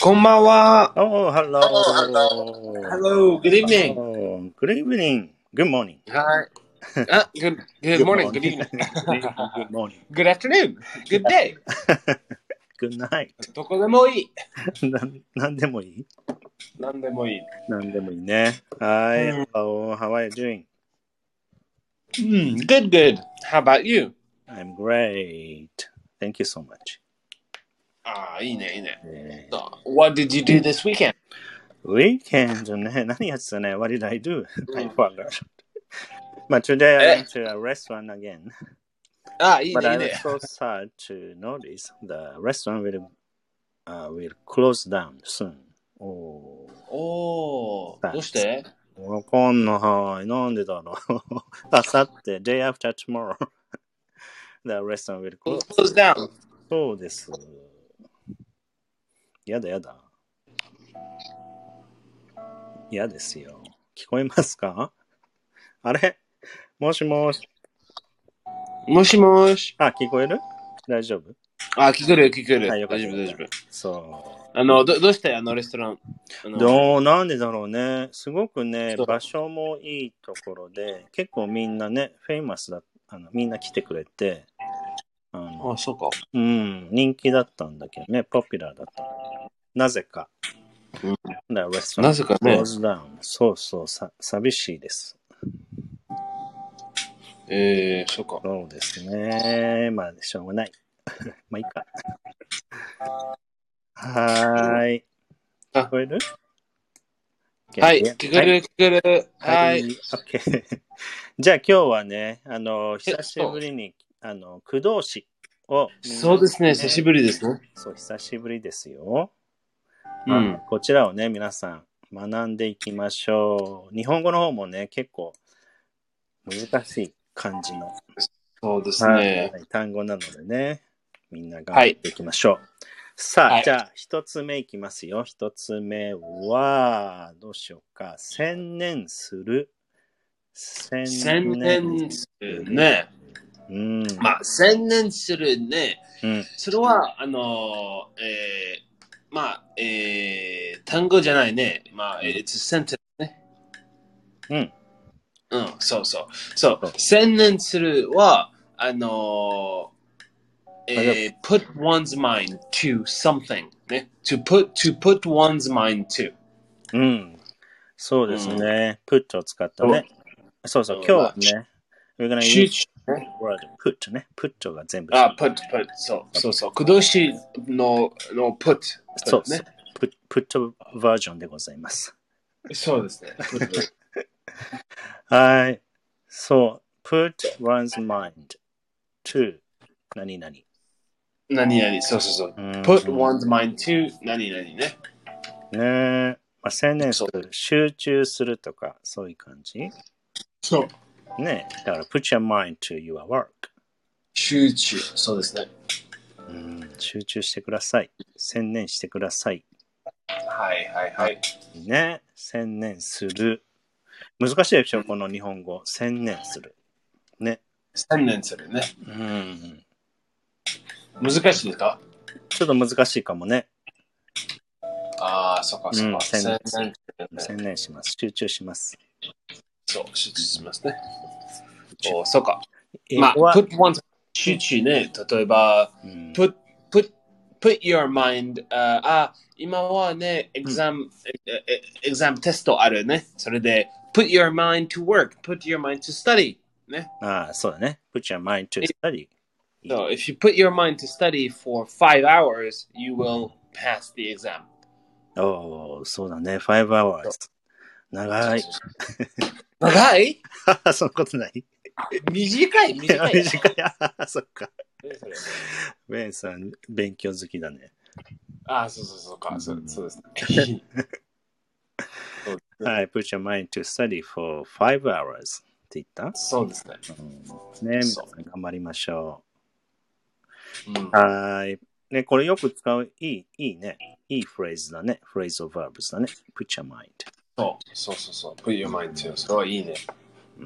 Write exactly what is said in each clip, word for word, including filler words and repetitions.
こんばんは。 Oh, hello. Hello, good evening. Oh, good evening. Good morning. はい。あ、good, good morning, good evening. Good morning. Good afternoon, good day. Good night. どこでもいい。 ななんでもいいなんでもいい。 なんでもいいね。はい。 うん Hello, how are you doing? うん、good, good. How about you? I'm great. Thank you so much. ああ、いいね、いいね。 え So, what did you do this weekend? ー Weekend ね。何やってたね ?What did I do? うん I forgot. But today I え went to a restaurant again. ああ、いい But ね、い I い was ね。 so sad to notice the restaurant will, uh, will close down soon. おー。 おー、どうしてわかんない。なんでだろう。あさって、day after tomorrow, the restaurant will close. ?close down. そうです。やだやだ。嫌ですよ。聞こえますか？あれもしもし。 もしもし。 あ、聞こえる？大丈夫？ あ、聞こえる、聞こえる。 あ、よかった大丈夫、大丈夫。 そあの、どどうしてあのレストランあう。 のどう、なんでだろうね。すごくねそ、う場所もいいところで、結構みんなね、フェイマスだ、あのみんな来てくれて、あのあ、そうか。 うん、人気だったんだけどね、ポピュラーだった。なぜか。 うんだレストランなぜかね。 close down。そうそう、さ、寂しいです。 えー、そうか。 そうですね。まあ、しょうがない。まあ、いいか。はーい。聞こえる？ はい、聞こえる、聞こえる。 はい。 はい。 OK。じゃあ今日はね、あの、 え久しぶりに、あの、駆動詞をみんな、 そうですね、久しぶりですね。 そう、久しぶりですよ。 うん。 こちらをね、皆さん学んでいきましょう。日本語の方もね、結構難しい感じの、 そうですね。 はい、単語なのでね、みんな頑張っていきましょう。はい、さあ、はい、じゃあ一つ目いきますよ。一つ目は、どうしようか。専念する。 専念するね。 うん、 まあ、専念するね。 うん、 それは、あの、えー、まあ、えー、単語じゃないね。まあ、うん、it's a sentence ね。 うん。 うん、そうそう。そう、専念するは、あの、えー、put one's mind to something ね。to put, to put one's mind to。 うん。そうですね。うん、put を使ったね。そうそう、今日はね、we're gonna use word put ね。put が全部。 あ、put, put。そう、そうそう。駆動詞の、の put。 そうそう。put, put バージョンでございます。 そうですね。 はい。そう。put one's mind to 何々。 何々、そうそうそう。put one's mind to 何々ね。ねえ。まあ、専念する、集中するとか、そういう感じ。 そう。 ね。だから、put your mind to your work。 集中。そうですね。 うん、集中してください。専念してください。 はいはいはい。 ね。専念する。難しいでしょ、この日本語。専念する。ね。 専念するね。 うん。 難しいですか？ ちょっと難しいかもね。 ああ、そっかそっか。 うん、専念する。専念します。集中します。 そう、集中しますね。お、そうか。 まあ、 put one 集中ね。例えば、うん、put, put, put your mind、uh, あ、今はね、exam、うん、exam テストあるね。それで、put your mind to work, put your mind to study ね。 ああ、そうだね。put your mind to study. So, if you put your mind to study for five hours, you will pass the exam. おー、そうだね。five hours. 長い。 長い？ そんなことない？ 短い、短い。 短い。あ、そっか。ベンさん、勉強好きだね。 あ、そうそうそうか。そうですね。 はい、put your mind to study for five hours って言った？ そうですね。 うん、ね、皆さん頑張りましょう。うん、はい。ね、これよく使う、いい、いいね。いいフレーズだね。フレーズ of verbs だね。put your mind。 そう、そうそうそう。put your mind to。それはいいね。 うん、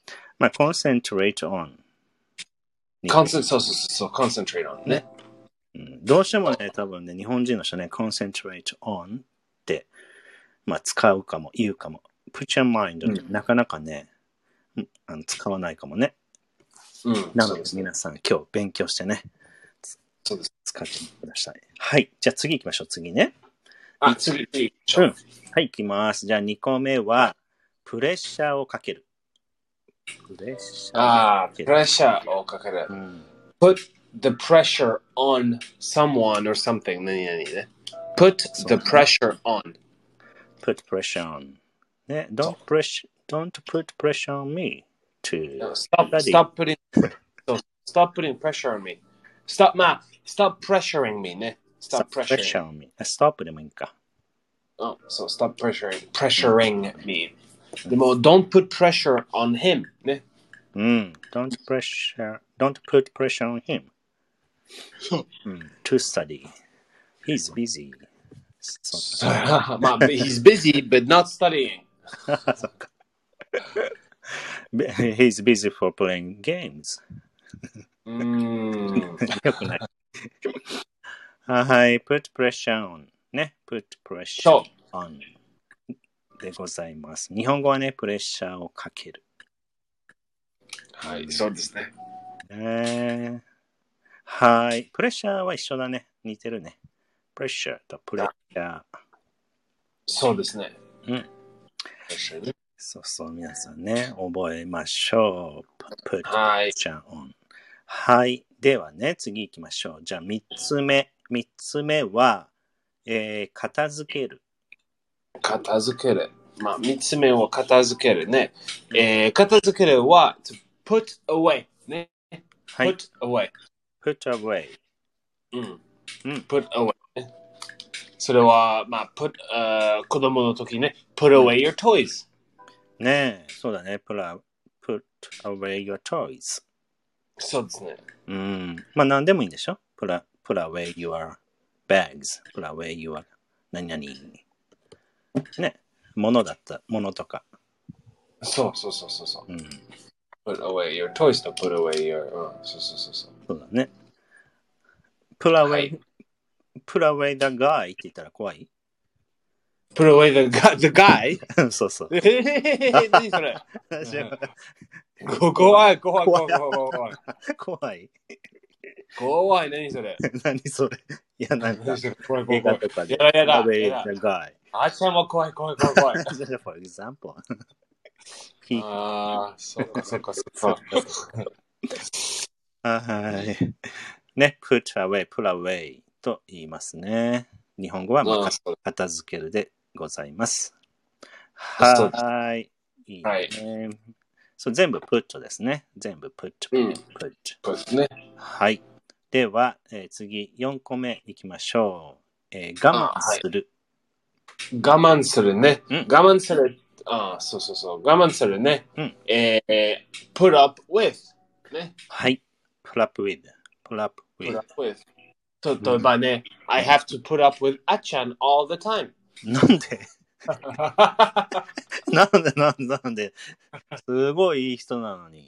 まあ、concentrate on。 concentrate、そうそうそう。concentrate on ね。 うん、どうしてもね、多分ね、日本人の人ね、concentrate on って、まあ、使うかも、言うかも。put your mind、うん、なかなかね、あの使わないかもね。 うん、 なので、皆さん、今日勉強してね、 そうです。 使ってみてください。はい。じゃあ次行きましょう。次ね。 あ、次、次。 うん。はい、行きます。じゃあにこめは、プレッシャーをかける。プレッシャー。 ああ、プレッシャーをかける。うん、put the pressure on someone or something. 何々ね。put the pressure on. put pressure on. ね、don't, press, don't put pressure on me to no, stop, study. Stop putting, so stop putting pressure on me. Stop, まあ、stop pressuring me ね。 stop, stop pressure on me. stop でもいいか。 Oh, so stop pressuring, pressuring me. でも、don't put pressure on him ね。 うん。don't pressure, don't put pressure on him. うん。to study. He's busy. まあ、he's busy, but not studying. He's busy for playing games. うーん。 よくない。はい、put pressure on ね、put pressure on でございます。日本語はね、プレッシャーをかける。 はい、そうですね。 えー、はい、プレッシャーは一緒だね。似てるね。プレッシャーとプレッシャー。 そうですね。 うん。そうそう、皆さんね、覚えましょう。put pressure on。はい。ではね、次行きましょう。じゃあ、三つ目。三つ目は、えー、片付ける。 片付ける。まあ、三つ目は片付けるね。えー、片付けるは、to put away ね。 はい。 put away。 put away。 うん。うん。put away ね。それは、まあ、put、uh, 子供の時ね。put away your toys。 ねえ、そうだね。put away your toys。 そうですね。 うん。まあ、何でもいいんでしょ ?put away your bags。put away your 何々。ね。物だった。物とか。 そうそうそうそうそう。うん。put away your toys と put away your、うん、そうそうそうそう。 そうだね。put away、はい、put away the guy って言ったら怖い ？put away the guy? The guy? そうそう。 えー、何それ怖い、怖い、怖い、怖い。 怖い。 怖い、何それ何それいや、なんか、 怖い、怖い、 映画とかで。 やだ、やだ。 put away the guy。 あちゃんも怖い、怖い、怖い、怖い。 for example。 ああ、そっか、そっか、そっか。 はい。ね、put away, put away と言いますね。日本語は、まあ、片付けるでございます。はい。いいね。はい、そう全部 put ですね。全部 put, put, うん、put ね。 はい。では、えー、次、よんこめいきましょう。えー、我慢する、 はい。我慢するね。うん、我慢する。ああ、そうそうそう。我慢するね。うん、えー、put up with。ね。 はい。put up with。put up with。 put up with。例えばね、うん、I have to put up with あちゃん all the time。 なんでなんでなんでなんですごいいい人なのに。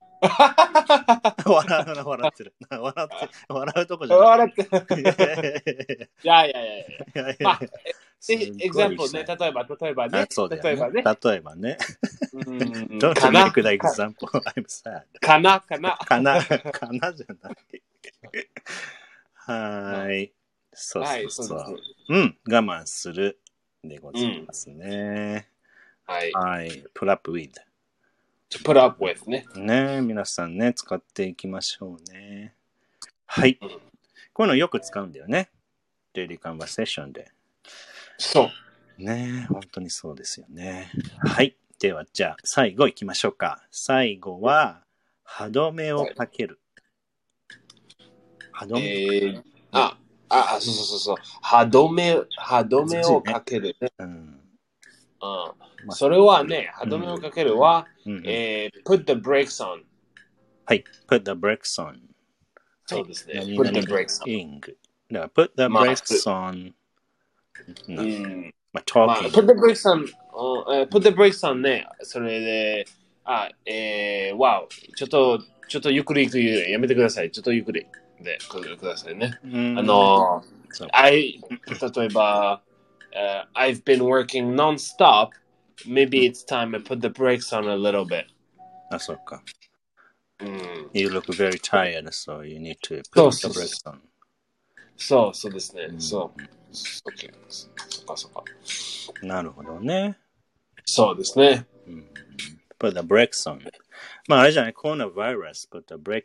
笑うな、笑ってる。笑って、笑うとこじゃない。 笑ってる。いやいやいやいや。まあ、エグザンプルね、例えば、例えばね。 そうだよね。 例えばね。 例えばね。Don't make the example. I'm sad. かな、かな。 かな、かなじゃない。はい。そうそうそう。うん、我慢するでございますね。 はい。 はい。put up with。to put up with ね。 ね、皆さんね、使っていきましょうね。はい。こういうのよく使うんだよね。Daily Conversation で。 そう。 ね、本当にそうですよね。はい。では、じゃあ、最後行きましょうか。最後は、歯止めをかける。歯止め、 えー、あ、あ、そうそうそうそう。歯止め、歯止めをかける、ね。うん。うんまあ、それはね、歯止めをかけるは、うんえー、put the brakes on。 はい、put the brakes on。 そうですね。 はい、 put the brakes on。だから、put the brakes on。 うん。 まあ、talking。まあ、 put the brakes on、uh, put the brakes on ね。それで、あ、えー、わお。ちょっと、ちょっとゆっくり行くやめてください。ちょっとゆっくり。 でくださいね。あの、I、例えば、uh, I've been working non-stop. Maybe it's time I put the brakes on a little bit. あ、そうか。 うん、 You look very tired, so you need to put the brakes on. そう、そうですね。そう。OK。そっかそっか。 なるほどね。 そうですね。 うん、put the brakes on. まあ、あれじゃない、コロナバイラス put the brake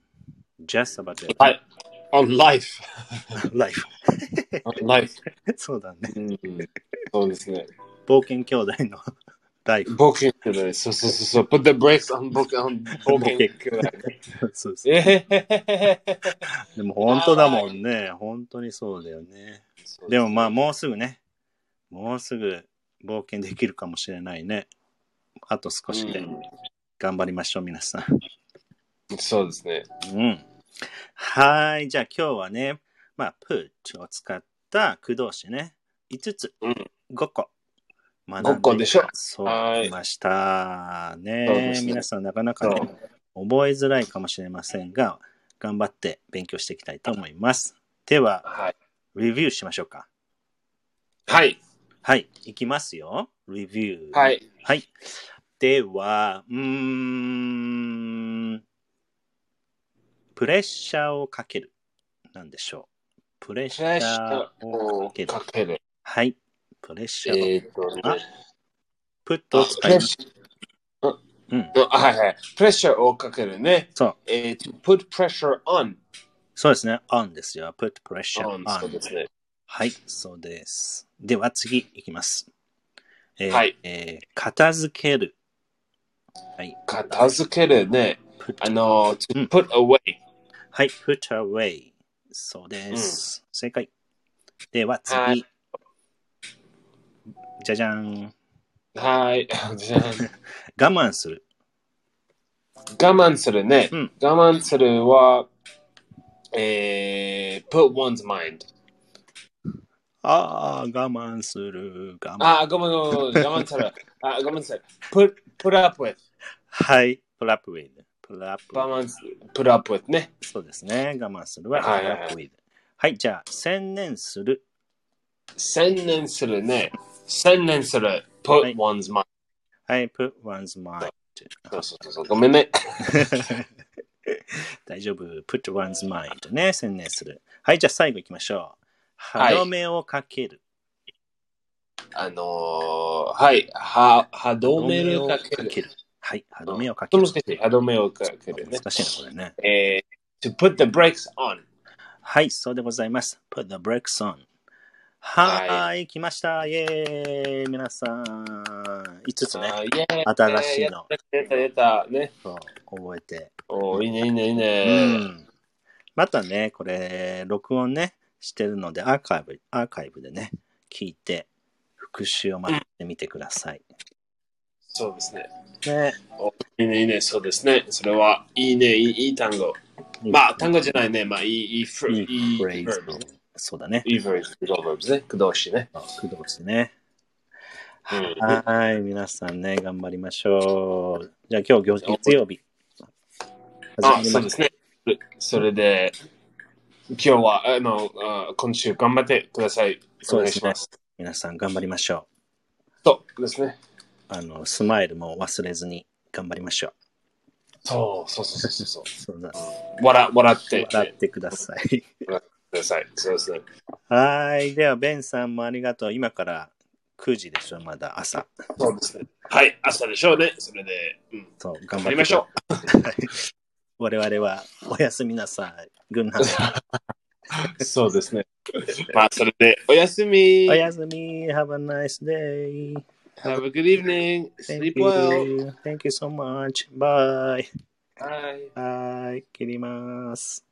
on.Just about it. はい。on life. life. on life. そうだね、 うん。そうですね。 冒険兄弟のライフ。 冒険兄弟。そうそうそうそう。Put the brakes on 冒険兄弟。 そうそう。でも本当だもんね。本当にそうだよね。でもまあもうすぐね。もうすぐ冒険できるかもしれないね。あと少しで。頑張りましょう、皆さん。 そうですね。 うん。はい。じゃあ今日はね、まあ、put を使った駆動詞ね。いつつ、うん、ごこ。 ごこでしょ。 そう、来ましたね。ね皆さんなかなかね、覚えづらいかもしれませんが、頑張って勉強していきたいと思います。では、はい、レビューしましょうか。 はい。 はい、いきますよ。レビュー。 はい。 はい。では、うーん、プレッシャーをかける。なんでしょう。プレッシャーをかける。かけるはい。プレッシャーを。えー、っとね。プットを使います。 うん。はいはい。プレッシャーをかけるね。 そう。 えー、to put pressure on。 そうですね。on ですよ。put pressure on。 そうですね。 はい、そうです。では次いきます。えー、 はい。 えー、片付ける。はい。 片付けるね。あの、to put away。 はい、put away。そうです。うん、正解。では次。はい、じゃじゃん。 はい。じゃん。 我慢する。 我慢するね。うん、我慢するは、えー、put one's mind。 ああ、我慢する。 我慢。ああ、ごめんごめん。我慢する。あごめんなさい。put, put up with。 はい。put up with。put up with。 我慢する。put up with ね。 そうですね。我慢するは put up with。はい、じゃあ、専念する。 専念するね。専念する。put、はい、one's mind。 はい、put one's mind。 そうそうそう。ごめんね。 大丈夫。put one's mind ね。専念する。はい、じゃあ最後行きましょう。歯止めをかける。 はい、あのー、はい。は、歯止めをかける。 はい。歯止めをかける。 難しい。歯止めをかけるね。 難しいな、これね。 えー、to put the brakes on。 はい、そうでございます。put the brakes on。はい、来ました。イェーイ。皆さん。いつつね。新しいの。 出た出た。ね。 そう、覚えて。 おいいね、いいね、いいね。 うん。またね、これ、録音ね、してるので、アーカイブ、アーカイブでね、聞いて、復習を待ってみてください。うん、 そうですね。 ね。 おいいね、いいね、そうですね。それは、いいね、いい、いい単語。まあ、単語じゃないね。まあ、いい、いいフレーズ。 そうだね。 いいフレーズ、駆動詞ね。駆動詞ね。 駆動詞ね。はい、皆さんね、頑張りましょう。じゃあ今日月曜日。 あ、そうですね。それで、今日は、あの、今週頑張ってください。お願いします。 皆さん頑張りましょう。そうですね。 あの、スマイルも忘れずに頑張りましょう。 そうそうそうそうそう。 そうだ。 笑、笑って。 笑ってください。 笑ってください。そうですね。 はい。では、ベンさんもありがとう。今からくじでしょ、まだ朝。 そうですね。はい、朝でしょうね。それで、うん、 そう、頑張りましょう。 我々はおやすみなさい。グッナイ。 そうですね。まあ、それで、おやすみ。 おやすみ。Have a nice day. Have a good evening. Sleep well. Thank you so much. Bye. Bye. はい。切ります。